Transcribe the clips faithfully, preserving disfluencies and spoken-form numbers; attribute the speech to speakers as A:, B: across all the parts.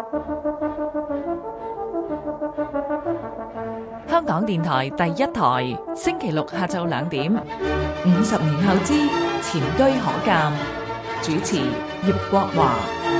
A: 香港電台第一台，星期六下晝兩點。五十年後之前車可鑑，主持葉國華。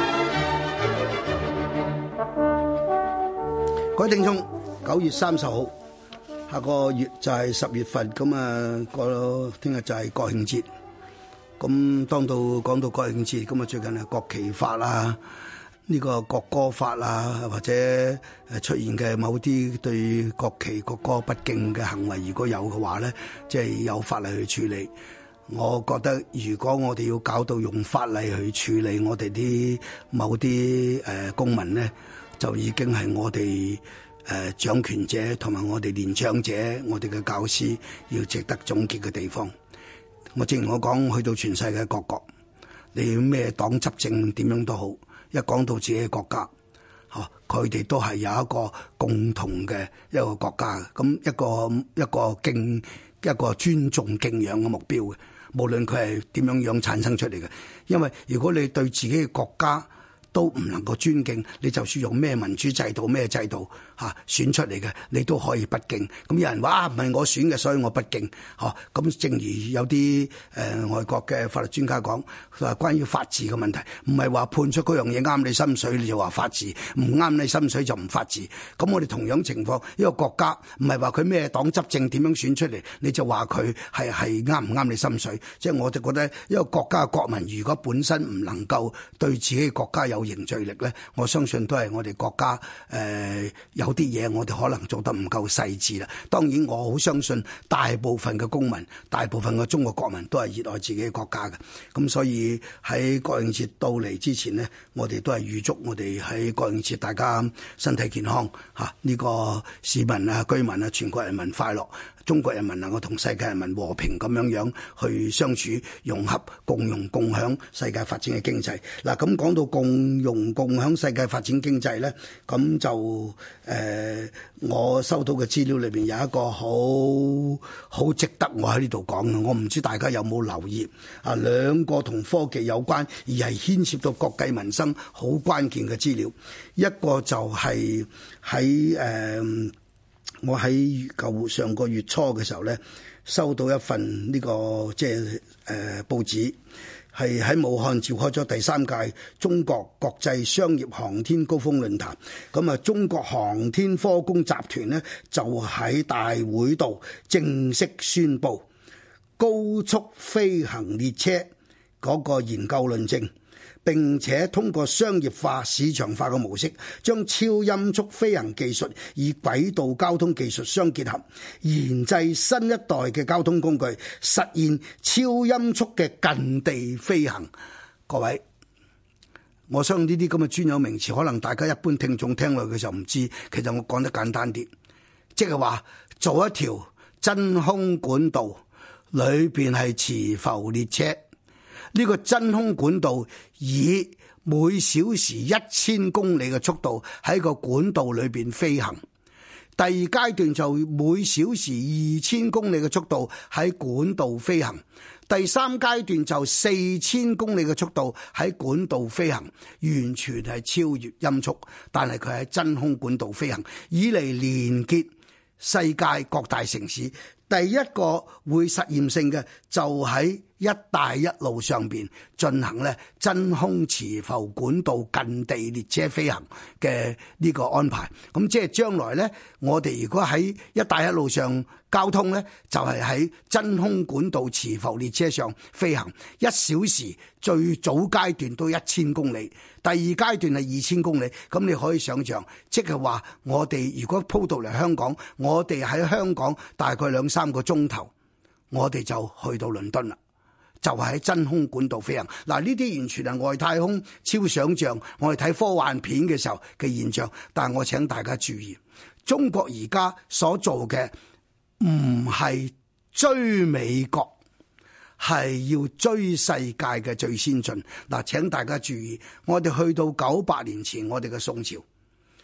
B: 各位聽眾，九月三十號，下個月就係十月份，咁啊，個聽日就係國慶節。咁當到講到國慶節，咁啊最近係國旗法啊，呢個國歌法啊，或者誒出現嘅某啲對國旗國歌不敬嘅行為，如果有嘅話咧，即係有法例去處理。我覺得如果我哋要搞到用法例去處理我哋啲某啲誒公民咧，就已經係我哋誒掌權者同埋我哋年長者，我哋嘅教師要值得總結嘅地方。我正如我講，去到全世界各國，你咩黨執政點樣都好，一講到自己嘅國家，嚇佢哋都係有一個共同嘅一個國家嘅，咁一個一個敬一個尊重敬仰嘅目標嘅，無論佢係點樣樣產生出嚟嘅。因為如果你對自己嘅國家都唔能夠尊敬，你就算用咩民主制度咩制度嚇選出嚟嘅，你都可以不敬。咁有人話唔係我選嘅，所以我不敬。嚇咁正如有啲誒、呃、外國嘅法律專家講，佢話關於法治嘅問題，唔係話判出嗰樣嘢啱你心水你就話法治，唔啱你心水就唔法治。咁我哋同樣情況，一個國家唔係話佢咩黨執政點樣選出嚟，你就話佢係係啱唔啱你心水。即係我就覺得一個國家嘅國民，如果本身唔能夠對自己嘅國家有凝聚力咧，我相信都係我哋國家誒、呃、有啲嘢我哋可能做得唔夠細緻啦。當然我好相信大部分嘅公民，大部分嘅中國國民都係熱愛自己嘅國家嘅。咁所以喺國慶節到嚟之前呢，我哋都係預祝我哋喺國慶節大家身體健康嚇，呢、呢個市民啊、居民啊、全國人民快樂。中國人民能夠同世界人民和平咁樣樣去相處、融合、共融、共享世界發展嘅經濟。嗱，咁講到共融、共享世界發展經濟咧，咁就誒、呃，我收到嘅資料裏邊有一個好好值得我喺呢度講嘅。我唔知大家有冇留意啊？兩個同科技有關而係牽涉到國計民生好關鍵嘅資料，一個就係喺誒。呃我喺舊上個月初嘅時候咧，收到一份呢、這個即係誒報紙，係喺武漢召開咗第三屆中國國際商業航天高峰論壇。咁啊，中國航天科工集團咧就喺大會度正式宣布高速飛行列車嗰個研究論證。並且通過商業化、市場化嘅模式，將超音速飛行技術與軌道交通技術相結合，研製新一代嘅交通工具，實現超音速嘅近地飛行。各位，我相信呢啲咁嘅專有名詞，可能大家一般聽眾聽落去就唔知。其實我講得簡單啲，即係話做一條真空管道，裏邊係磁浮列車。呢個真空管道以每小時一千公里嘅速度喺個管道裏邊飛行，第二階段就每小時二千公里嘅速度喺管道飛行，第三階段就四千公里嘅速度喺管道飛行，完全係超越音速，但係佢喺真空管道飛行，以嚟連結世界各大城市。第一個會實驗性嘅就喺一帶一路上邊進行咧真空磁浮管道近地列車飛行嘅呢個安排。咁即係將來咧，我哋如果喺一帶一路上交通咧，就係喺真空管道磁浮列車上飛行，一小時最早階段都一千公里，第二階段係二千公里。咁你可以想象，即係話我哋如果鋪到嚟香港，我哋喺香港大概兩三個鐘頭，我哋就去到倫敦啦。就係喺真空管道飛行。嗱，呢啲完全係外太空超想像，我哋睇科幻片嘅時候嘅現象。但係我請大家注意，中國而家所做嘅唔係追美國，係要追世界嘅最先進。嗱，請大家注意，我哋去到九百年前，我哋嘅宋朝，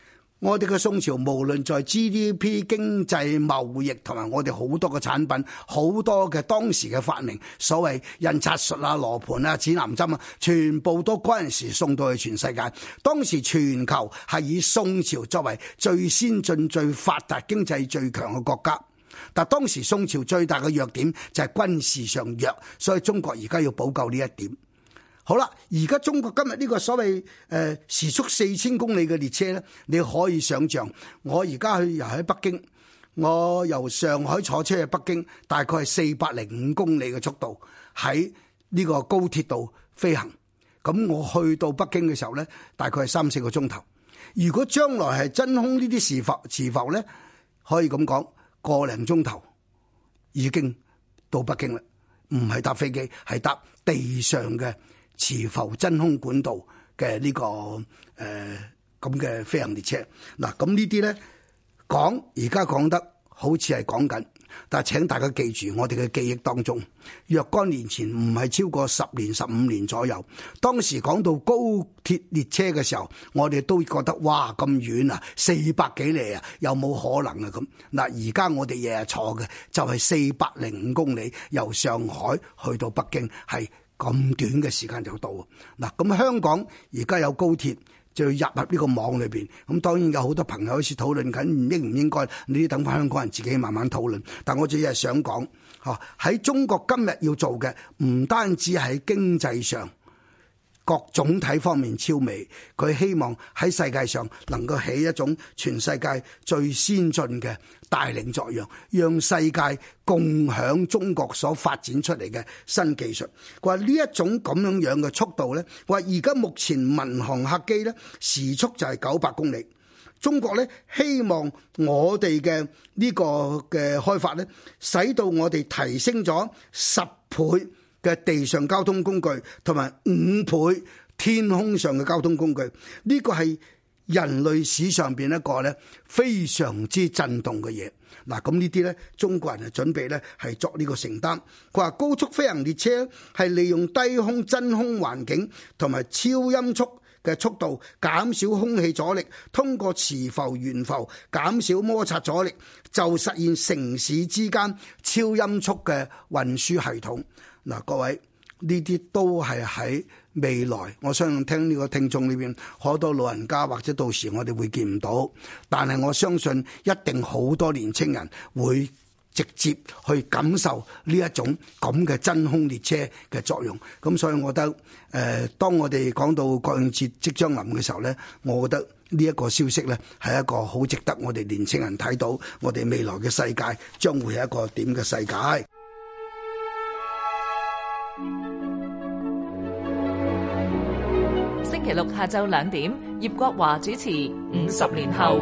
B: 我哋嘅宋朝無論在 G D P、經濟、貿易同埋我哋好多嘅產品，好多嘅當時嘅發明，所謂印刷術啊、羅盤啊、指南針啊，全部都嗰陣時送到去全世界。當時全球係以宋朝作為最先進、最發達、經濟最強嘅國家。但當時宋朝最大嘅弱點就係軍事上弱，所以中國而家要補救呢一點。好啦，而家中國今日呢個所謂誒、呃、時速四千公里嘅列車咧，你可以想象，我而家去由喺北京，我由上海坐車去北京，大概係四百零五公里嘅速度喺呢個高鐵度飛行。咁我去到北京嘅時候咧，大概係三四個鐘頭。如果將來係真空呢啲磁浮磁浮咧，可以咁講，個零鐘頭已經到北京啦。唔係搭飛機，係搭地上嘅磁浮真空管道嘅呢、這個誒咁嘅飛行列車。嗱，咁呢啲咧講而家講得好似係講緊，但係請大家記住，我哋嘅記憶當中，若干年前唔係超過十年、十五年左右，當時講到高鐵列車嘅時候，我哋都覺得哇咁遠啊，四百幾里啊，有冇可能啊咁？嗱，而家我哋日日坐嘅就係四百零五公里，由上海去到北京係咁短嘅時間就到。嗱，咁香港而家有高鐵，就要入入呢個網裏邊。咁當然有好多朋友好似討論緊應唔應該，你等翻香港人自己慢慢討論。但我只係想講，嚇喺中國今日要做嘅，唔單止喺經濟上各總體方面超美，佢希望喺世界上能夠起一種全世界最先進嘅帶領作用，讓世界共享中國所發展出嚟嘅新技術。佢話呢一種咁樣樣嘅速度咧，話而家目前民航客機咧時速就係九百公里。中國咧希望我哋嘅呢個嘅開發咧，使到我哋提升咗十倍嘅地上交通工具，同埋五倍天空上嘅交通工具。呢個係人類史上邊一個咧非常之震動嘅嘢。嗱，咁呢啲咧中國人係準備咧係作呢個承擔。佢話高速飛行列車係利用低空真空環境同埋超音速嘅速度，減少空氣阻力，通過磁浮懸浮減少摩擦阻力，就實現城市之間超音速嘅運輸系統。嗱，各位呢啲都係喺未來，我相信聽呢個聽眾裏邊好多老人家，或者到時我哋會見唔到，但係我相信一定好多年青人會直接去感受呢一種咁嘅真空列車嘅作用。咁所以我覺得誒、呃、當我哋講到國慶節即將臨嘅時候咧，我覺得呢一個消息咧係一個好值得我哋年青人睇到，我哋未來嘅世界將會係一個點嘅世界。
A: 星期六下晝兩點，葉國華主持《五十年後》。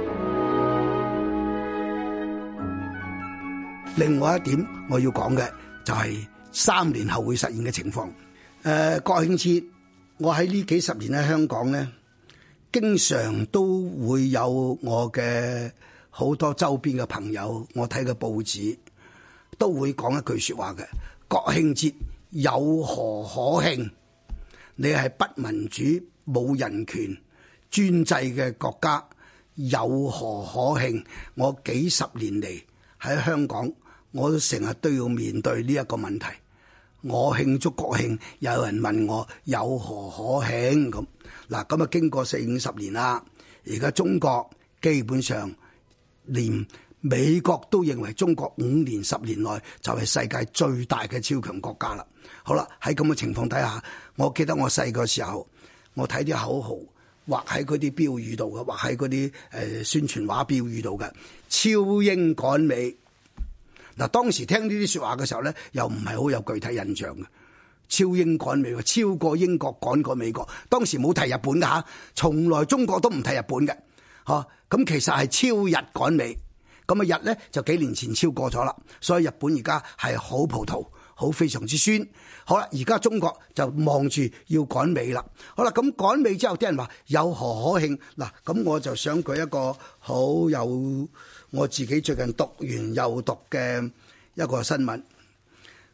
B: 另外一點我要講嘅就係三年後會實現嘅情況。誒、呃，國慶節我喺呢幾十年喺香港咧，經常都會有我嘅好多周邊嘅朋友，我睇嘅報紙都會講一句説話嘅：國慶節有何可慶？你係不民主、冇人權、專制嘅國家，有何可慶？我幾十年嚟喺香港，我都成日都要面對呢一個問題。我慶祝國慶，有人問我有何可慶咁。嗱，咁啊經過四五十年啦，而家中國基本上連美國都認為中國五年十年內就係世界最大嘅超強國家啦。好啦，喺咁嘅情況底下，我記得我細個時候，我睇啲口號畫喺嗰啲標語度嘅，畫喺嗰啲誒宣傳畫標語度嘅，超英趕美。嗱，當時聽呢啲説話嘅時候咧，又唔係好有具體印象嘅。超英趕美，超過英國趕過美國。當時冇提日本嘅嚇，從來中國都唔提日本嘅。嚇，咁其實係超日趕美。咁啊日咧就幾年前超過咗啦，所以日本而家係好葡萄，好非常之酸。好啦，而家中國就望住要趕美啦。好啦，咁趕美之後，啲人話有何可慶？嗱，咁我就想舉一個好有我自己最近讀完又讀嘅一個新聞。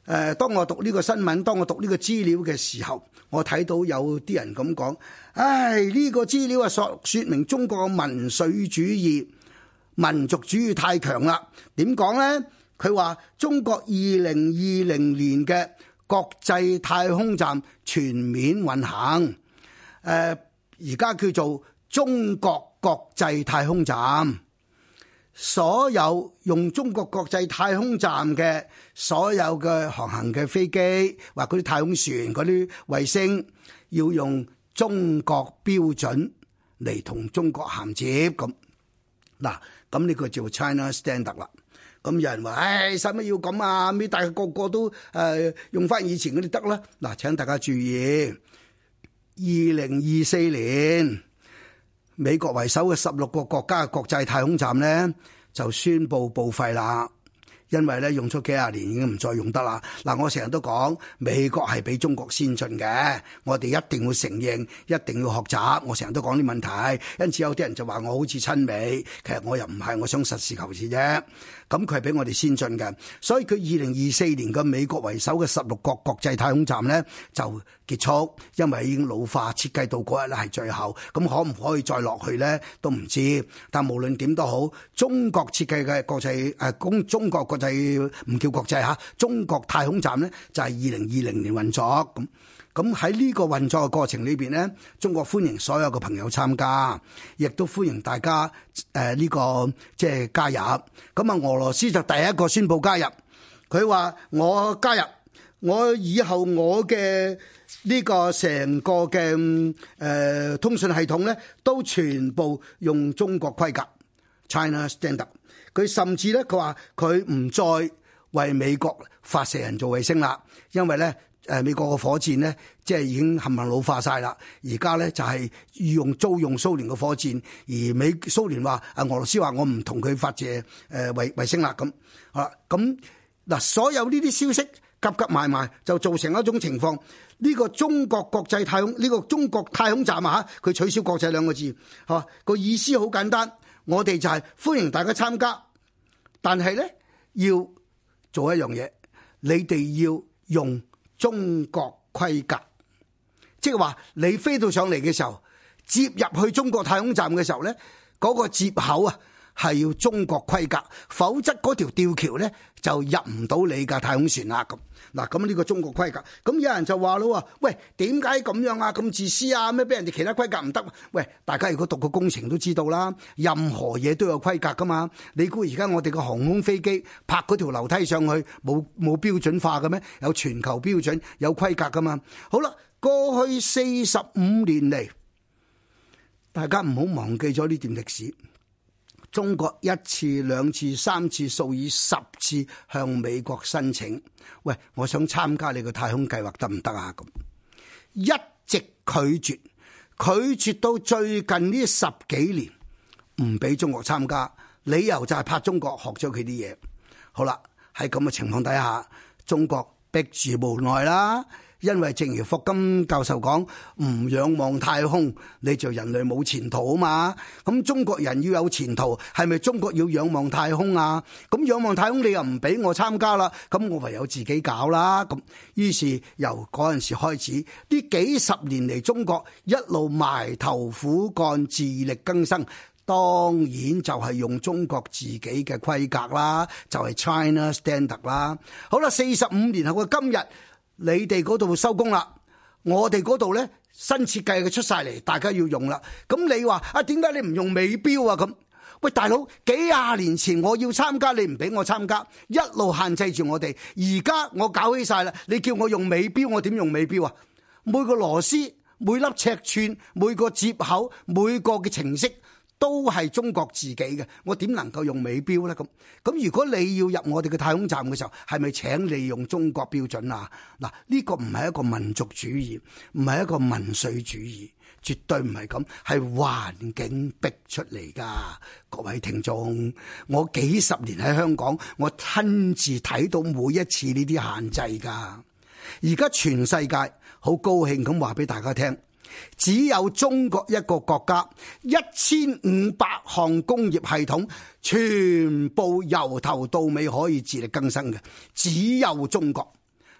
B: 誒，當我讀呢個新聞，當我讀呢個資料嘅時候，我睇到有啲人咁講，唉，呢個資料啊，說說明中國嘅民粹主義、民族主義太強啦。點講呢？佢話中國二零二零年嘅國際太空站全面運行，誒，而家叫做中國國際太空站。所有用中國國際太空站嘅所有嘅航行嘅飛機或嗰啲太空船嗰啲衛星，要用中國標準嚟同中國銜接咁。嗱，咁呢個叫 China Standard 啦。咁有人話，唉，使乜要咁啊？咩大家個個都誒、呃、用翻以前嗰啲得啦。嗱，請大家注意，二零二四年。美國為首嘅十六個國家嘅國際太空站呢，就宣布報廢啦，因為咧用咗幾廿年已經唔再用得啦。嗱，我成日都講美國係比中國先進嘅，我哋一定要承認，一定要學習。我成日都講啲問題，因此有啲人就話我好似親美，其實我又唔係，我想實事求是啫。咁佢係比我哋先進嘅，所以佢二零二四年嘅美國為首嘅十六個國際太空站呢就結束，因為已經老化，設計到嗰日咧係最後。咁可唔可以再落去呢？都唔知。但無論點都好，中國設計嘅國際誒，中中國國際唔叫國際嚇，中國太空站呢就係二零二零年運作咁。咁喺呢個運作嘅過程裏邊呢，中國歡迎所有嘅朋友參加，亦都歡迎大家誒呢、呃這個即係加入。咁啊，俄羅斯就第一個宣布加入，佢話我加入，我以後我嘅呢個成個嘅誒、呃、通訊系統呢，都全部用中國規格 China Standard。佢甚至呢，佢話佢唔再為美國發射人造衛星啦，因為呢。誒，美國個火箭呢，即係已經冚唪唥老化晒啦。而家咧就係用租用蘇聯嘅火箭，而美蘇聯話啊，俄羅斯話我唔同佢發射誒衛衛星啦。咁好啦，咁嗱，所有呢啲消息夾夾埋埋，就造成一種情況。呢個中國國際太空呢個中國太空站啊，嚇佢取消國際兩個字，嚇個意思好簡單，我哋就係歡迎大家參加，但係咧要做一樣嘢，你哋要用中國規格，即係話你飛到上嚟嘅時候，接入去中國太空站嘅時候呢，嗰個接口啊係要中國規格，否則嗰條吊橋呢就入唔到你嘅太空船啦。咁嗱，咁呢個中國規格，咁有人就話咯，喂，點解咁樣啊？咁自私啊？咩俾人哋其他規格唔得？喂，大家如果讀過工程都知道啦，任何嘢都有規格噶嘛。你估而家我哋個航空飛機泊嗰條樓梯上去冇冇標準化嘅咩？有全球標準，有規格噶嘛。好啦，過去四十五年嚟，大家唔好忘記咗呢段歷史。中國一次、兩次、三次、數以十次向美國申請，喂，我想參加你個太空計劃得唔得啊？咁一直拒絕，拒絕到最近呢十幾年唔俾中國參加，理由就係怕中國學咗佢啲嘢。好啦，喺咁嘅情況底下，中國逼住無奈啦。因為正如霍金教授講，唔仰望太空，你就人類冇前途啊嘛。咁中國人要有前途，係咪中國要仰望太空啊？咁仰望太空你又唔俾我參加啦，咁我唯有自己搞啦。咁於是由嗰陣時開始，呢幾十年嚟，中國一路埋頭苦幹，自力更生。當然就係用中國自己嘅規格啦，就係 China Standard 啦。好啦，四十五年後嘅今日，你哋嗰度收工啦，我哋嗰度呢新設計嘅出晒嚟，大家要用啦。咁你話啊，點解你唔用美標啊？咁喂，大佬，幾廿年前我要參加，你唔俾我參加，一路限制住我哋。而家我搞起晒啦，你叫我用美標，我點用美標啊？每個螺絲、每粒尺寸、每個接口、每個嘅程式，都係中國自己嘅，我點能夠用美標呢？咁咁如果你要入我哋嘅太空站嘅時候，係咪請你用中國標準啊？嗱，呢個唔係一個民族主義，唔係一個民粹主義，絕對唔係咁，係環境逼出嚟㗎。各位聽眾，我幾十年喺香港，我親自睇到每一次呢啲限制㗎。而家全世界好高興咁話俾大家聽。只有中國一個國家，一千五百項工業系統全部由頭到尾可以自力更生嘅，只有中國。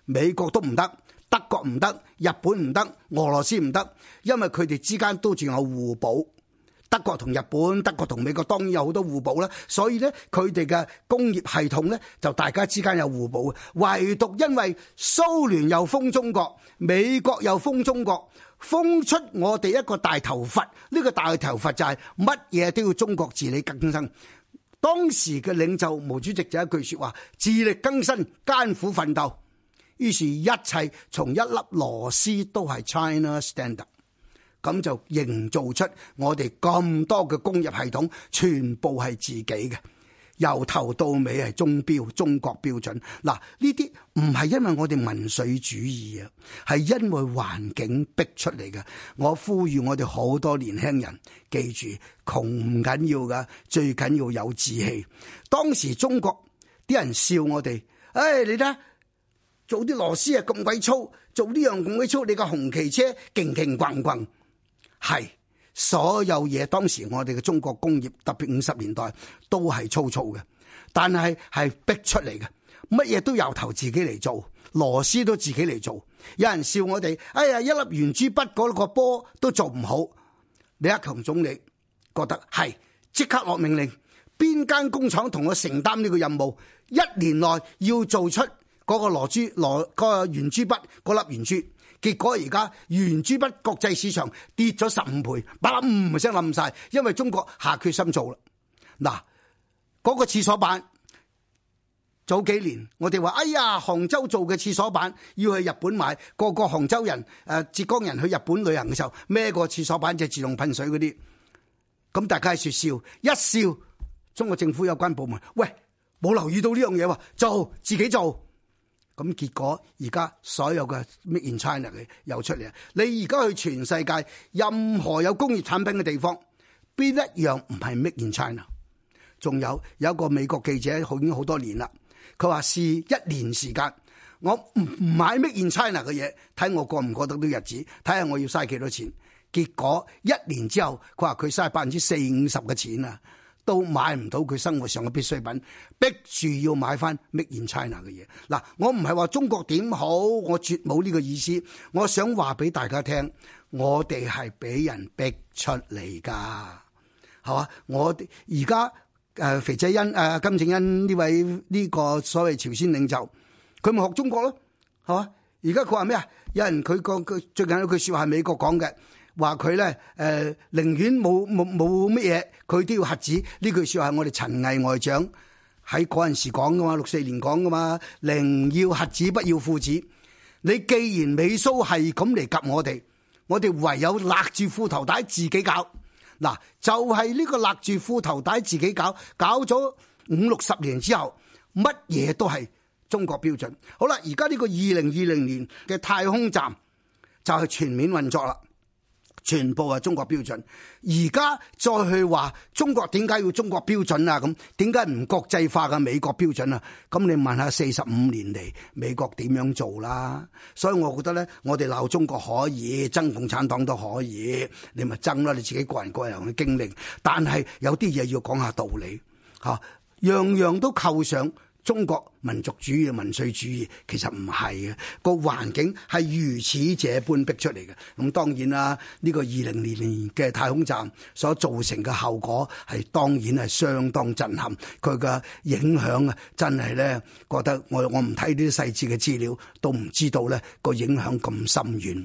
B: 美國都唔得，德國唔得，日本唔得，俄羅斯唔得，因為佢哋之間都仲有互補。德國同日本、德國同美國當然有好多互補啦，所以咧佢哋嘅工業系統咧就大家之間有互補。唯獨因為蘇聯又封中國，美國又封中國，封出我哋一個大頭佛。呢個大頭佛就係乜嘢都要中國自力更生。當時嘅領袖毛主席就一句説話：自力更生，艱苦奮鬥。於是，一切從一粒螺絲都係 China Standard。咁就營造出我哋咁多嘅工業系統，全部係自己嘅，由頭到尾係中標、中國標準。嗱，呢啲唔係因為我哋民粹主義啊，係因為環境逼出嚟嘅。我呼籲我哋好多年輕人記住，窮唔緊要噶，最緊要有志氣。當時中國啲人笑我哋，唉、哎，你睇做啲螺絲啊咁鬼粗，做呢樣咁鬼粗，你個紅旗車勁勁轟轟。係所有嘢，當時我哋嘅中國工業，特別五十年代都係粗糙嘅，但係係逼出嚟嘅，乜嘢都由頭自己嚟做，螺絲都自己嚟做。有人笑我哋，哎呀，一粒圓珠筆嗰個波都做唔好。李克強總理覺得係，即刻落命令，邊間工廠同我承擔呢個任務，一年內要做出嗰個螺珠螺嗰個圓珠筆嗰粒圓珠。結果而家圓珠筆國際市場跌咗十五倍，把冧聲冧晒，因為中國下決心做啦。嗱，嗰個廁所板早幾年我哋話，哎呀，杭州做嘅廁所板要去日本買，個個杭州人誒浙江人去日本旅行嘅時候孭個廁所板就自動噴水嗰啲，咁大家説笑一笑，中國政府有關部門，喂，冇留意到呢樣嘢喎，做自己做。咁結果而家所有嘅 Made in China 嘅又出嚟啊！你而家去全世界任何有工業產品嘅地方，邊一樣唔係 Made in China？ 仲有有一個美國記者，已經好多年啦，佢話試一年時間，我唔唔買 Made in China 嘅嘢，睇我過唔過得到日子，睇下我要嘥幾多錢。結果一年之後，佢話佢嘥百分之四五十嘅錢啊！都買唔到佢生活上嘅必需品，逼住要買翻 Made in China 嘅嘢。嗱，我唔係話中國點好，我絕冇呢個意思。我想話俾大家聽，我哋係俾人逼出嚟噶，係嘛？我哋而家誒肥仔恩誒、呃、金正恩呢位呢個所謂朝鮮領袖，佢咪學中國咯，係嘛？而家佢話咩啊？有人佢個佢最近有句説話係美國講嘅。話佢咧誒，寧願冇冇冇乜嘢，佢都要核子。呢句説話係我哋陳毅外長喺嗰陣時講噶嘛，六四年講噶嘛，寧要核子不要父子。你既然美蘇係咁嚟夾我哋，我哋唯有勒住褲頭帶自己搞。嗱，就係、是、呢個勒住褲頭帶自己搞，搞咗五六十年之後，乜嘢都係中國標準。好啦，而家呢個二零二零年嘅太空站就係全面運作啦。全部係中國標準，而家再去話中國點解要中國標準啊？咁點解唔國際化嘅美國標準啊？咁你問下四十五年嚟美國點樣做啦？所以我覺得咧，我哋鬧中國可以，憎共產黨都可以，你咪憎啦，你自己個人個人嘅經歷。但係有啲嘢要講下道理，嚇，樣樣都扣上中國民族主義、民粹主義，其實唔係嘅，個環境係如此這般逼出嚟嘅。咁當然啦，呢個二零二零年嘅太空站所造成嘅後果係當然係相當震撼，佢嘅影響啊，真係咧覺得我我唔睇呢啲細節嘅資料，都唔知道咧個影響咁深遠。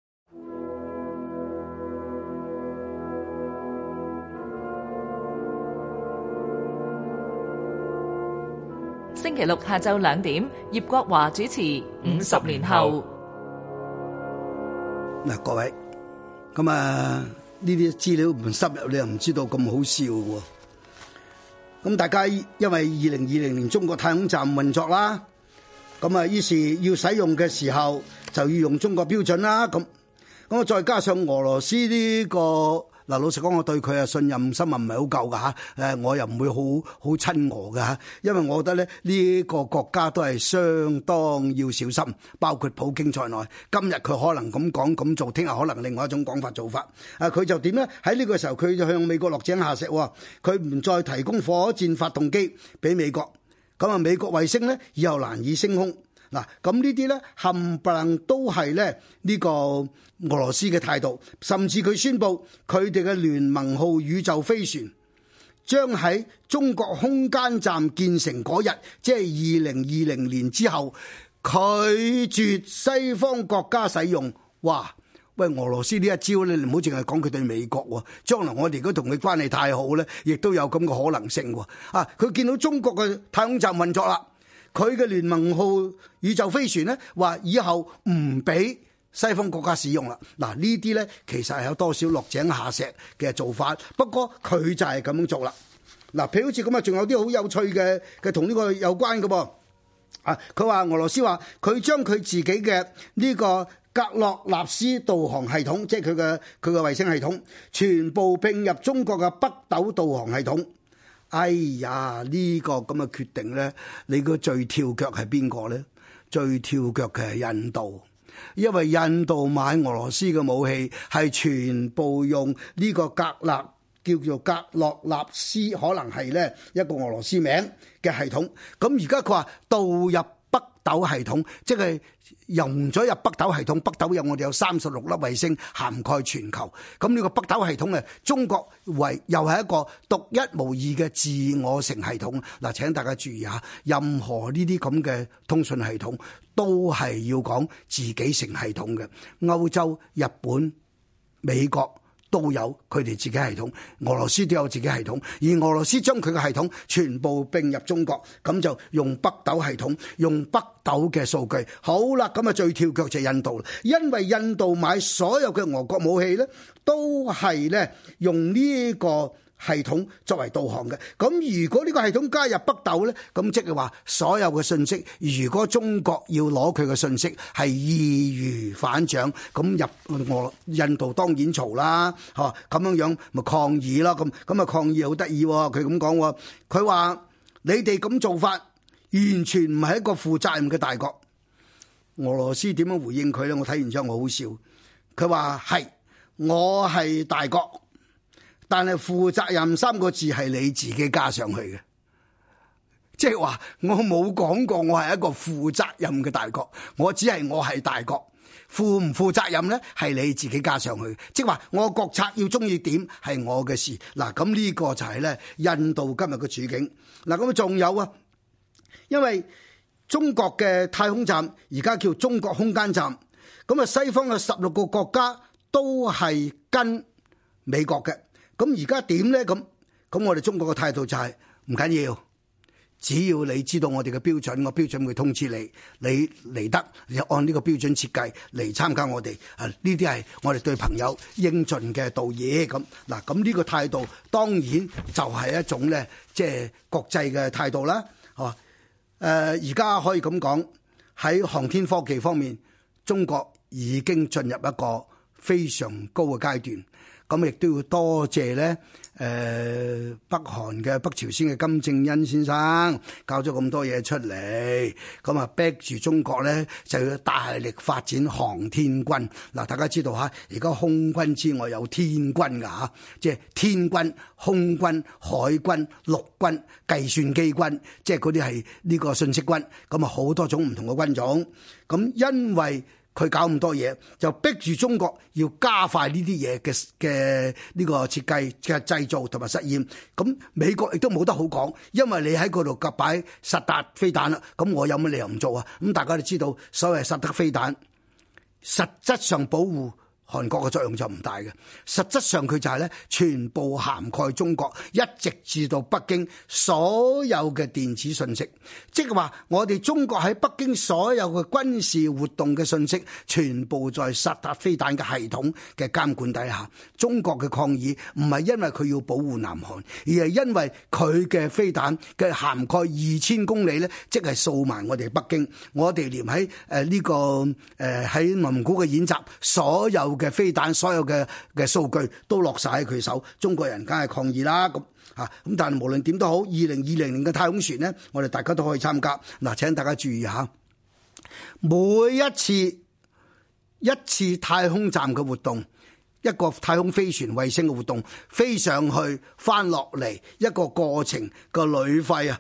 A: 星期六下晝兩點，葉國華主持《五十年後》。
B: 嗱，各位，咁啊呢啲資料唔深入，你又唔知道咁好笑嘅。咁大家因為二零二零年中國太空站運作啦，咁啊於是要使用嘅時候就要用中國標準啦。咁咁啊再加上俄羅斯呢個。嗱，老實講，我對佢啊信任心啊唔係好夠噶嚇，誒我又唔會好好親俄噶嚇，因為我覺得咧呢個國家都係相當要小心，包括普京在內。今日佢可能咁講咁做，聽日可能另外一種講法做法。啊，佢就點咧？喺呢個時候佢就向美國落井下石喎，佢唔再提供火箭發動機俾美國，咁啊美國衛星咧以後難以升空。 嗱，咁呢啲咧冚唪唥都係咧呢個俄羅斯嘅態度，甚至佢宣布佢哋嘅聯盟號宇宙飛船將喺中國空間站建成嗰日，即係二零二零年之後，拒絕西方國家使用。哇！喂，俄羅斯呢一招咧，你唔好淨係講佢對美國喎，將來我哋如果同佢關係太好咧，亦都有咁嘅可能性喎。啊，佢見到中國嘅太空站運作啦，佢嘅聯盟號宇宙飛船咧話以後唔俾西方國家使用啦。嗱，呢啲咧其實係有多少落井下石嘅做法，不過佢就係咁樣做啦。嗱，譬如好似咁啊，仲有啲好有趣嘅嘅同呢個有關嘅噃。啊，佢話俄羅斯話佢將佢自己嘅呢個格洛納斯導航系統，即係佢嘅佢嘅衛星系統，全部併入中國嘅北斗導航系統。哎呀，呢個咁嘅決定咧，你個最跳腳係邊個咧？最跳腳嘅係印度，因為印度買俄羅斯嘅武器係全部用呢個格納叫做格洛納斯，可能係咧一個俄羅斯名嘅系統。咁而家佢話導入北斗系統，即係融咗入北斗系統。北斗有我哋有三十六粒衛星，涵蓋全球。咁呢個北斗系統咧，中國為又係一個獨一無二嘅自我成系統。嗱，請大家注意下，任何呢啲咁嘅通訊系統都係要講自己成系統嘅。歐洲、日本、美國都有佢哋自己系統，俄羅斯都有自己系統，而俄羅斯將佢嘅系統全部併入中國，咁就用北斗系統，用北斗嘅數據。好啦，咁啊最跳腳就係印度啦，因為印度買所有嘅俄國武器咧，都係咧用呢個系統作為導航嘅。咁如果呢個系統加入北斗咧，咁即係話所有嘅信息，如果中國要攞佢嘅信息係易如反掌，咁入俄印度當然嘈啦，嚇咁樣樣咪抗議啦。咁咁啊抗議好得意喎，佢咁講，佢話你哋咁做法完全唔係一個負責任嘅大國。俄羅斯點樣回應佢咧？我睇完之後我好笑，佢話係我係大國，但係負責任三個字係你自己加上去嘅，即係話我冇講過我係一個負責任嘅大國，我只係我係大國，負唔負責任呢係你自己加上去，即係話我國策要中意點係我嘅事。嗱，咁呢個就係咧印度今日嘅處境。嗱，咁仲有啊，因為中國嘅太空站而家叫中國空間站，咁啊西方嘅十六個國家都係跟美國嘅。咁而家點呢？咁咁我哋中國嘅態度就係唔緊要，只要你知道我哋嘅標準，我標準會通知你，你嚟得你就按呢個標準設計嚟參加我哋。啊，呢啲係我哋對朋友應盡嘅道義。咁嗱，咁呢個態度當然就係一種咧，即係國際嘅態度啦。嚇，誒而家可以咁講，喺航天科技方面，中國已經進入一個非常高嘅階段。咁亦都要多謝咧，誒北韓嘅北朝鮮嘅金正恩先生搞咗咁多嘢出嚟，咁啊逼住中國咧就要大力發展航天軍。嗱，大家知道嚇，而家空軍之外有天軍㗎嚇，即係天軍、空軍、海軍、陸軍、計算機軍，即係嗰啲係呢個信息軍，咁啊好多種唔同嘅軍種。咁因為佢搞咁多嘢，就逼住中國要加快呢啲嘢嘅嘅呢個設計嘅製造同埋實驗。咁美國亦都冇得好講，因為你喺嗰度夾擺實達飛彈啦，咁我有乜理由唔做啊？咁大家都知道，所謂實德飛彈，實質上保護韓國嘅作用就唔大嘅，實質上佢就係咧全部涵蓋中國，一直至到北京所有嘅電子信息，即係話我哋中國喺北京所有嘅軍事活動嘅信息，全部在薩達飛彈嘅系統嘅監管底下。中國嘅抗議唔係因為佢要保護南韓，而係因為佢嘅飛彈嘅涵蓋二千公里咧，即係掃埋我哋北京。我哋連喺誒呢個誒喺內蒙古嘅演習，所有嘅飛彈所有嘅嘅數據都落晒喺佢手，中國人梗係抗議啦。咁吓咁，但係無論點都好，二零二零年嘅太空船呢，我哋大家都可以參加。嗱，請大家注意下，每一次一次太空站嘅活動，一個太空飛船衛星嘅活動，飛上去翻落嚟一個過程個旅費啊，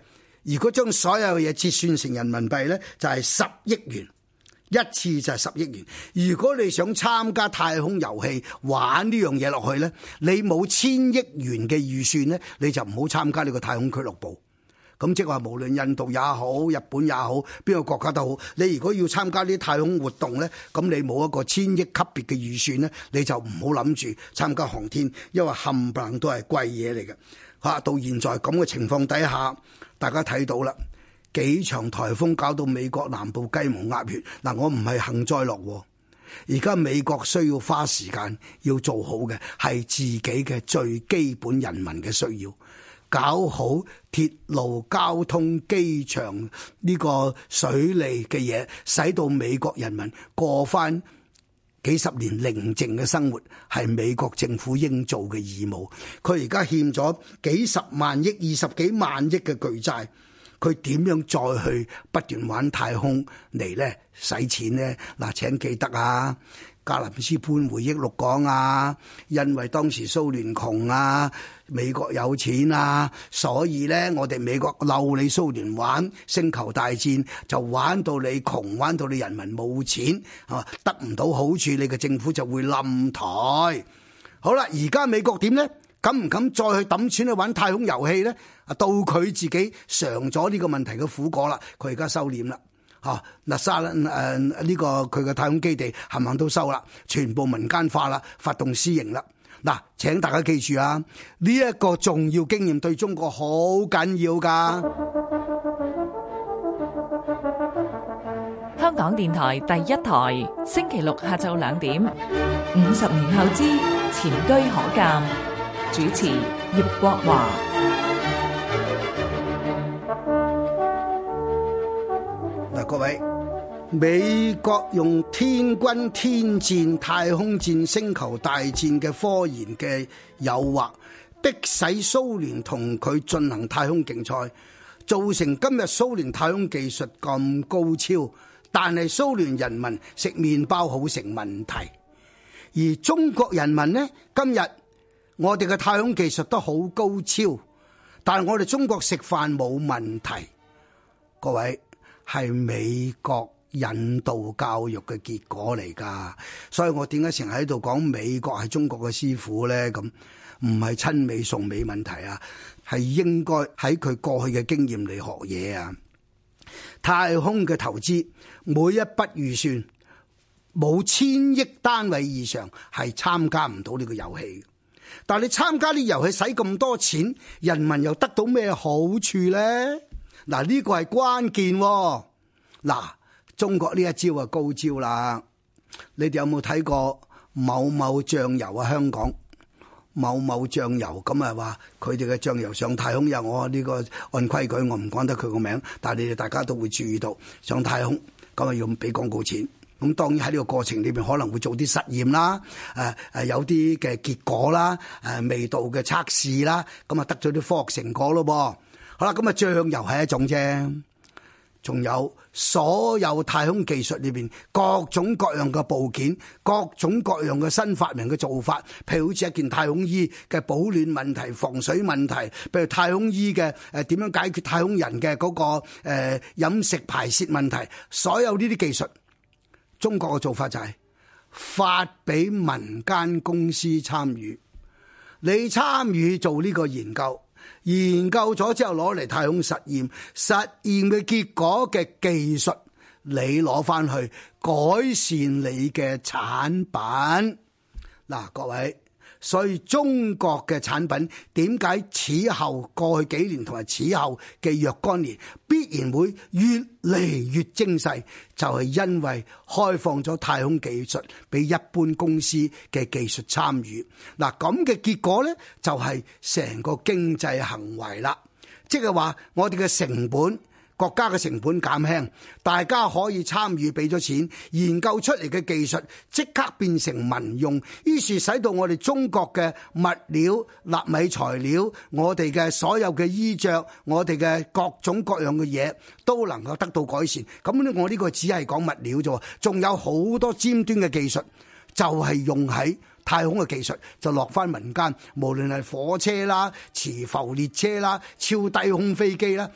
B: 如果將所有嘢折算成人民幣咧，就係十億元。一次就係十億元。如果你想參加太空遊戲玩呢樣嘢落去呢，你冇千億元嘅預算呢，你就唔好參加呢個太空俱樂部。咁即係話無論印度也好，日本也好，邊個國家都好，你如果要參加呢啲太空活動呢，咁你冇一個千億級別嘅預算呢，你就唔好諗住參加航天，因為冚唪唥都係貴嘢嚟嘅。嚇，到現在咁嘅情況底下，大家睇到啦。幾場颱風搞到美國南部雞毛鴨血，嗱，我唔係幸災樂禍，而家美國需要花時間要做好嘅係自己嘅最基本人民嘅需要，搞好鐵路交通、機場呢個水利嘅嘢，使到美國人民過返幾十年寧靜嘅生活，係美國政府應做嘅義務。佢而家欠咗幾十萬億、二十幾萬億嘅巨債。佢點樣再去不斷玩太空嚟咧使錢咧？嗱，請記得啊，格林斯潘回憶錄講啊，因為當時蘇聯窮啊，美國有錢啊，所以咧我哋美國漏你蘇聯玩星球大戰，就玩到你窮，玩到你人民冇錢，啊，得唔到好處，你嘅政府就會冧台。好啦，而家美國點咧？敢唔敢再去抌錢去玩太空遊戲咧？啊，到佢自己嘗咗呢個問題嘅苦果啦，佢而家收斂啦，嚇嗱沙誒呢個佢嘅太空基地冚唪唥都收啦，全部民間化啦，發動私營啦。嗱，請大家記住啊，呢一個重要經驗對中國好緊要㗎。
A: 香港電台第一台，星期六下晝兩點，五十年後之前車可鑑。主持葉國華。
B: 嗱，各位，美國用天軍天戰、太空戰、星球大戰嘅科研嘅誘惑，迫使蘇聯同佢進行太空競賽，造成今日蘇聯太空技術咁高超，但係蘇聯人民食麵包好成問題，而中國人民呢，今日我哋嘅太空技術都好高超，但係我哋中國食飯冇問題。各位，係美國引導教育嘅結果嚟㗎，所以我點解成日喺度講美國係中國嘅師傅咧？咁唔係親美崇美問題啊，係應該喺佢過去嘅經驗嚟學嘢啊。太空嘅投資每一筆預算冇千億單位以上係參加唔到呢個遊戲。但係你參加啲遊戲使咁多錢，人民又得到咩好處咧？嗱，呢個係關鍵喎。嗱，中國呢一招啊高招啦！你哋有冇睇過某某醬油啊？香港某某醬油咁啊，話佢哋嘅醬油上太空，有我呢個按規矩我唔講得佢個名，但係你哋大家都會注意到上太空咁啊要俾廣告錢。咁當然喺呢個過程裏邊可能會做啲實驗啦，誒誒有啲嘅結果啦，誒味道嘅測試啦，咁啊得咗啲科學成果咯噃。好啦，咁啊醬油係一種啫，仲有所有太空技術裏邊各種各樣嘅部件，各種各樣嘅新發明嘅做法，譬如好似一件太空衣嘅保暖問題、防水問題，譬如太空衣嘅誒點樣解決太空人嘅嗰個誒飲食排泄問題，所有呢啲技術。中國嘅做法就係發俾民間公司參與，你參與做呢個研究，研究咗之後攞嚟太空實驗，實驗嘅結果嘅技術你攞翻去改善你嘅產品。嗱，各位，所以中國嘅產品點解此後過去幾年同埋此後嘅若干年必然會越嚟越精細，就係因為開放咗太空技術俾一般公司嘅技術參與。嗱，咁嘅結果呢，就係成個經濟行為啦，即係話我哋嘅成本。國家嘅成本減輕，大家可以參與俾咗錢，研究出嚟嘅技術即刻變成民用，於是使到我哋中國嘅物料、納米材料、我哋嘅所有嘅衣着、我哋嘅各種各樣嘅嘢都能夠得到改善。咁呢，我呢個只係講物料啫，仲有好多尖端嘅技術就係用喺太空嘅技術，就落翻民間，無論係火車啦、磁浮列車啦、超低空飛機啦。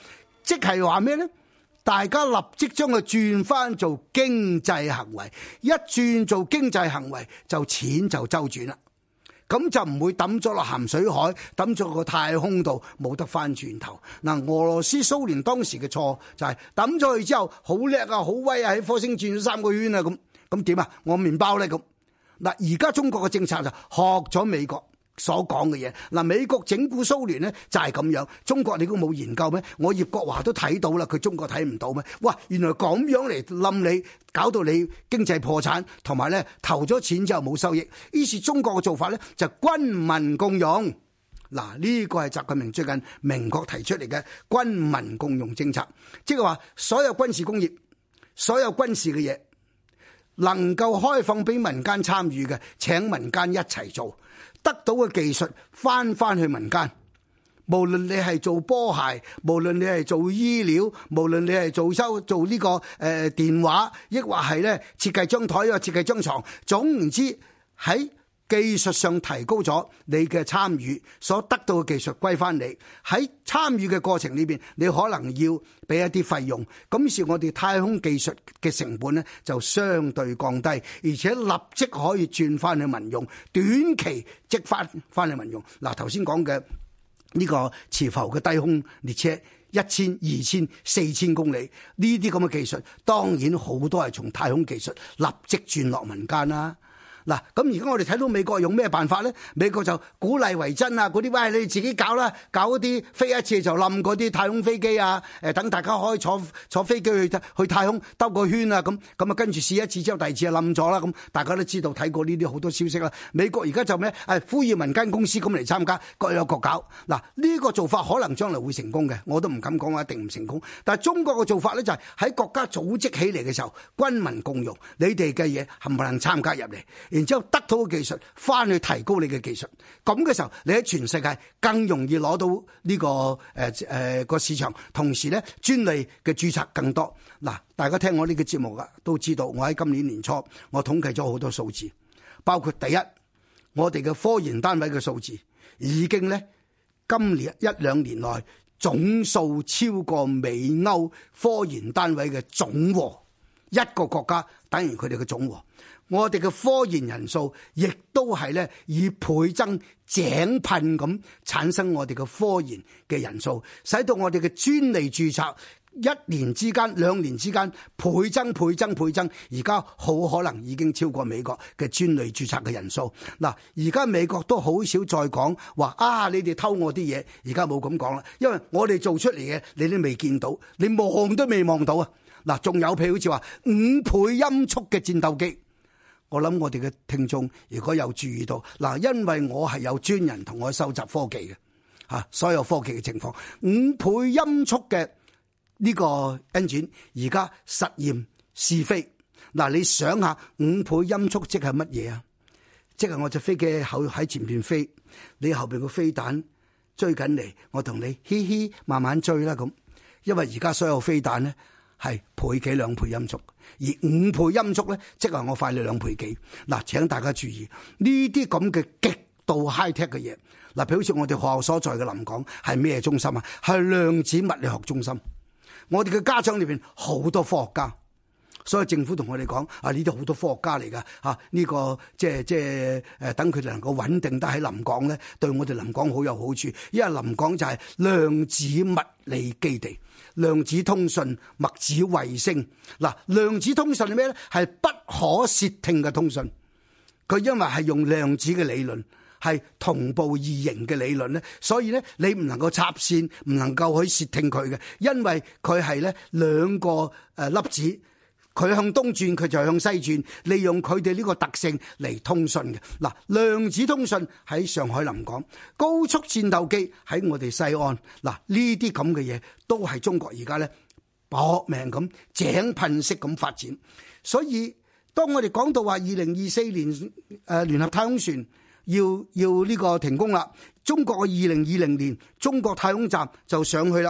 B: 即係話咩咧？大家立即將佢轉翻做經濟行為，一轉做經濟行為就錢就周轉啦。咁就唔會抌咗落鹹水海，抌咗個太空度，冇得翻轉頭。嗱，俄羅斯蘇聯當時嘅錯就係抌咗去之後，好叻啊，好威啊，喺火星轉咗三個圈啊，咁咁點啊？我麵包咧咁。嗱，而家中國嘅政策就學咗美國所講嘅嘢。嗱，美國整蠱蘇聯呢就係咁樣，中國你都冇研究咩？我葉國華都睇到啦，佢中國睇唔到咩？哇，原來咁樣嚟冧你，搞到你經濟破產，同埋咧投咗錢之後冇收益。於是中國嘅做法咧就軍民共用。嗱，呢個係習近平最近明確提出嚟嘅軍民共用政策，即係話所有軍事工業、所有軍事嘅嘢能夠開放俾民間參與嘅，請民間一齊做。得到嘅技術翻翻去民間，無論你係做波鞋，無論你係做醫療，無論你係做收做呢個誒電話，抑或係咧設計張台啊，設計張床，總言之喺技術上提高咗你嘅參與，所得到嘅技術歸翻你。喺參與嘅過程裏邊，你可能要俾一啲費用。咁於是我哋太空技術嘅成本咧就相對降低，而且立即可以轉翻去民用，短期即翻翻去民用。嗱，頭先講嘅呢個磁浮嘅低空列車，一千、二千、四千公里呢啲咁嘅技術，當然好多係從太空技術立即轉落民間啦。嗱，咁而家我哋睇到美國用咩辦法咧？美國就鼓勵為真啊，嗰啲喂你自己搞啦，搞嗰啲飛一次就冧嗰啲太空飛機啊，誒等大家可以坐坐飛機去去太空兜個圈啊，咁咁啊跟住試一次之後，第二次就冧咗啦，咁大家都知道睇過呢啲好多消息啦。美國而家就咩？誒呼籲民間公司咁嚟參加，各有各搞。嗱，呢個做法可能將來會成功嘅，我都唔敢講話一定唔成功。但係中國嘅做法咧就係喺國家組織起嚟嘅時候，軍民共用，你哋嘅嘢冚唪唥參加入嚟。然之後得到嘅技術，翻去提高你嘅技術，咁嘅時候，你喺全世界更容易攞到呢、這個誒誒個市場，同時咧專利嘅註冊更多。嗱，大家聽我呢個節目噶，都知道我喺今年年初，我統計咗好多數字，包括第一，我哋嘅科研單位嘅數字已經咧今年一兩年內總數超過美歐科研單位嘅總和，一個國家等於佢哋嘅總和。我哋嘅科研人數亦都係咧以倍增井噴咁產生我哋嘅科研嘅人數，使到我哋嘅專利註冊一年之間、兩年之間倍增、倍增、倍增，而家好可能已經超過美國嘅專利註冊嘅人數。嗱，而家美國都好少再講話啊，你哋偷我啲嘢，而家冇咁講啦，因為我哋做出嚟嘅你都未見到，你望都未望到啊！嗱，仲有譬如好似話五倍音速嘅戰鬥機。我諗我哋嘅聽眾如果有注意到，嗱，因為我係有專人同我收集科技嘅，吓所有科技嘅情況，五倍音速嘅呢個 engine 而家實驗試飛，嗱，你想下五倍音速即係乜嘢啊？即係我隻飛機後喺前邊飛，你後邊個飛彈追緊嚟，我同你嘻嘻慢慢追啦咁，因為而家所有飛彈咧係倍幾兩倍音速。而五倍音速咧，即係我快你兩倍幾。嗱，請大家注意呢啲咁嘅極度 high tech 嘅嘢。嗱，譬如好似我哋學校所在嘅臨港係咩中心啊？係量子物理學中心。我哋嘅家長裏邊好多科學家，所以政府同我哋講啊，呢啲好多科學家嚟㗎嚇。呢個即係即係誒，等佢哋能夠穩定得喺臨港咧，對我哋臨港好有好處。因為臨港就係量子物理基地。量子通訊、墨子衛星，嗱，量子通訊係咩咧？係不可竊聽嘅通訊。佢因為係用量子嘅理論，係同步異形嘅理論咧，所以咧你唔能夠插線，唔能夠去竊聽佢嘅，因為佢係咧兩個誒粒子。佢向東轉，佢就向西轉，利用佢哋呢個特性嚟通訊嘅。嗱，量子通訊喺上海臨港，高速戰鬥機喺我哋西安。嗱，呢啲咁嘅嘢都係中國而家咧搏命咁井噴式咁發展。所以當我哋講到話二零二四年誒聯合太空船要要呢個停工啦，中國嘅二零二零年中國太空站就上去啦。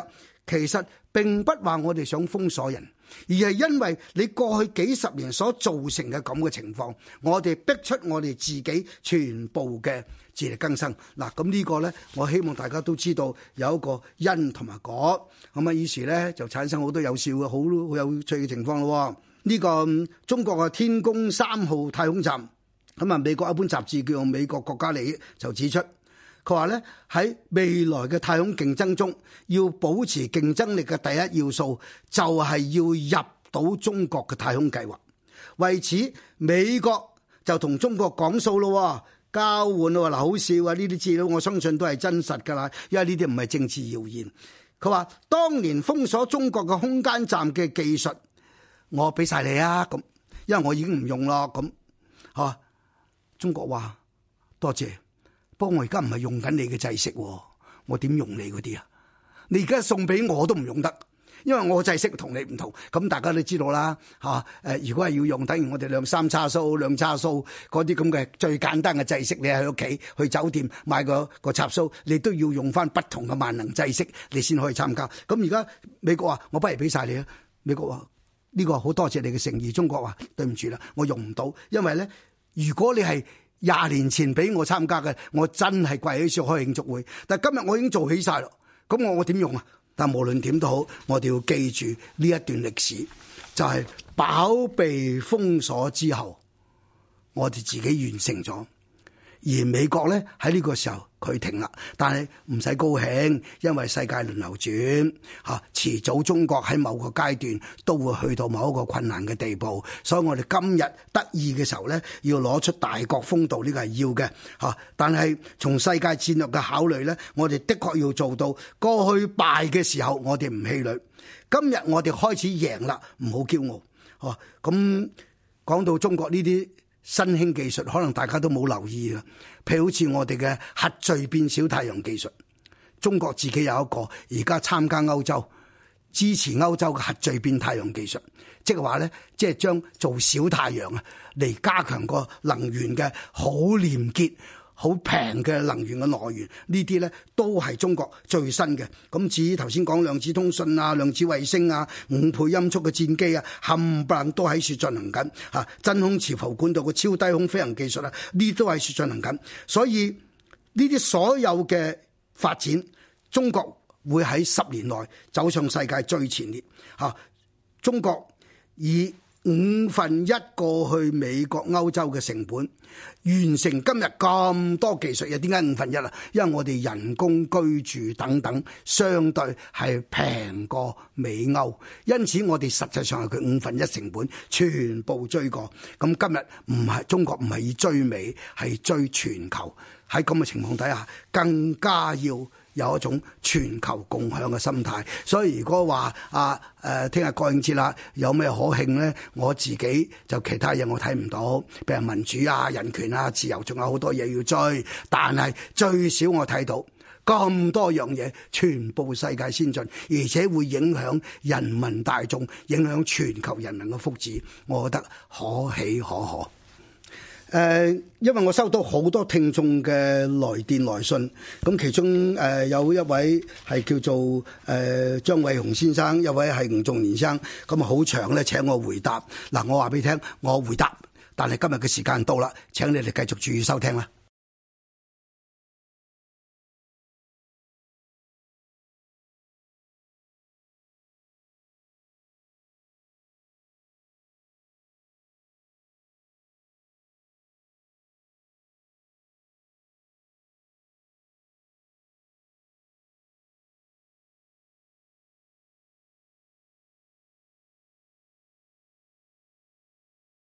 B: 其實並不話我哋想封鎖人，而係因為你過去幾十年所造成嘅咁嘅情況，我哋逼出我哋自己全部嘅自力更生。嗱，咁呢個呢，我希望大家都知道有一個因同埋果，咁啊，於是呢，就產生好多有笑嘅好好有趣嘅情況咯。呢、這個中國嘅天宮三號太空站，咁啊，美國一本雜誌叫做《美國國家利益》就指出，佢話咧喺未來嘅太空競爭中，要保持競爭力嘅第一要素就係要入到中國嘅太空計劃。為此，美國就同中國講數咯，交換咯。嗱，好笑啊！呢啲資料我相信都係真實㗎啦，因為呢啲唔係政治謠言。佢話當年封鎖中國嘅空間站嘅技術，我俾晒你啊！咁，因為我已經唔用咯。咁，嚇，中國話多謝。不過我而家唔係用緊你嘅制式，我點用你嗰啲啊？你而家送俾我都唔用得，因為我制式同你唔同。咁大家都知道啦，嚇誒！如果係要用，等於我哋兩三叉蘇、兩叉蘇嗰啲咁嘅最簡單嘅制式，你喺屋企去酒店買個個插蘇，你都要用翻不同嘅萬能制式，你先可以參加。咁而家美國話我不如俾晒你啊！美國話呢個好多謝你嘅誠意。中國話對唔住啦，我用唔到，因為咧，如果你係廿年前俾我參加嘅，我真係跪起上開慶祝會。但係今日我已經做起晒咯，咁我我點用啊？但無論點都好，我哋要記住呢一段歷史，就係飽被封鎖之後，我哋自己完成咗。而美國咧喺呢個時候佢停啦，但係唔使高興，因為世界輪流轉嚇，遲早中國喺某個階段都會去到某一個困難嘅地步，所以我哋今日得意嘅時候咧，要攞出大國風度，呢個係要嘅嚇。但係從世界戰略嘅考慮咧，我哋的確要做到過去敗嘅時候我哋唔氣餒，今日我哋開始贏啦，唔好驕傲嚇。咁講到中國呢啲新興技術，可能大家都冇留意啊。譬如好似我哋嘅核聚變小太陽技術，中國自己有一個，而家參加歐洲，支持歐洲嘅核聚變太陽技術，即係話咧，即係將做小太陽啊，嚟加強個能源嘅好廉潔、好平嘅能源嘅來源，呢啲咧都係中國最新嘅。咁至於頭先講量子通訊啊、量子衛星啊、五倍音速嘅戰機啊，冚唪唥都喺處進行緊嚇。真空磁浮管道嘅超低空飛行技術啊，呢都喺處進行緊。所以呢啲所有嘅發展，中國會喺十年內走上世界最前列嚇。中國以五分一過去美國、歐洲嘅成本，完成今日咁多技術嘢。點解五分一啊？因為我哋人工、居住等等相對係平過美歐，因此我哋實際上係佢五分一成本全部追過。咁今日唔係中國唔係以追美，係追全球。喺咁嘅情況底下，更加要有一種全球共享嘅心態。所以如果話啊誒聽日國慶節啦，有咩可慶咧？我自己就其他嘢我睇唔到，譬如民主啊、人權啊、自由，仲有好多嘢要追。但係最少我睇到咁多樣嘢，全部世界先進，而且會影響人民大眾，影響全球人民嘅福祉，我覺得可喜可賀。誒、呃，因為我收到好多聽眾嘅來電來信，咁其中誒、呃、有一位係叫做誒、呃、張偉雄先生，一位係吳仲年生，咁啊好長咧請我回答。嗱，我話俾你聽，我回答，但係今日嘅時間到啦，請你哋繼續注意收聽啦。